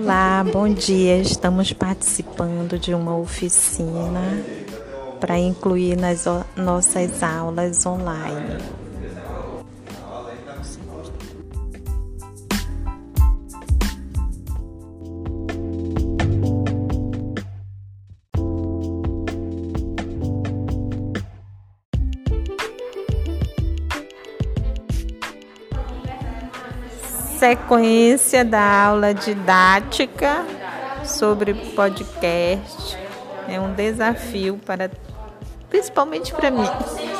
Olá, bom dia. Estamos participando de uma oficina para incluir nas nossas aulas online. Sequência da aula didática sobre podcast é um desafio principalmente para mim.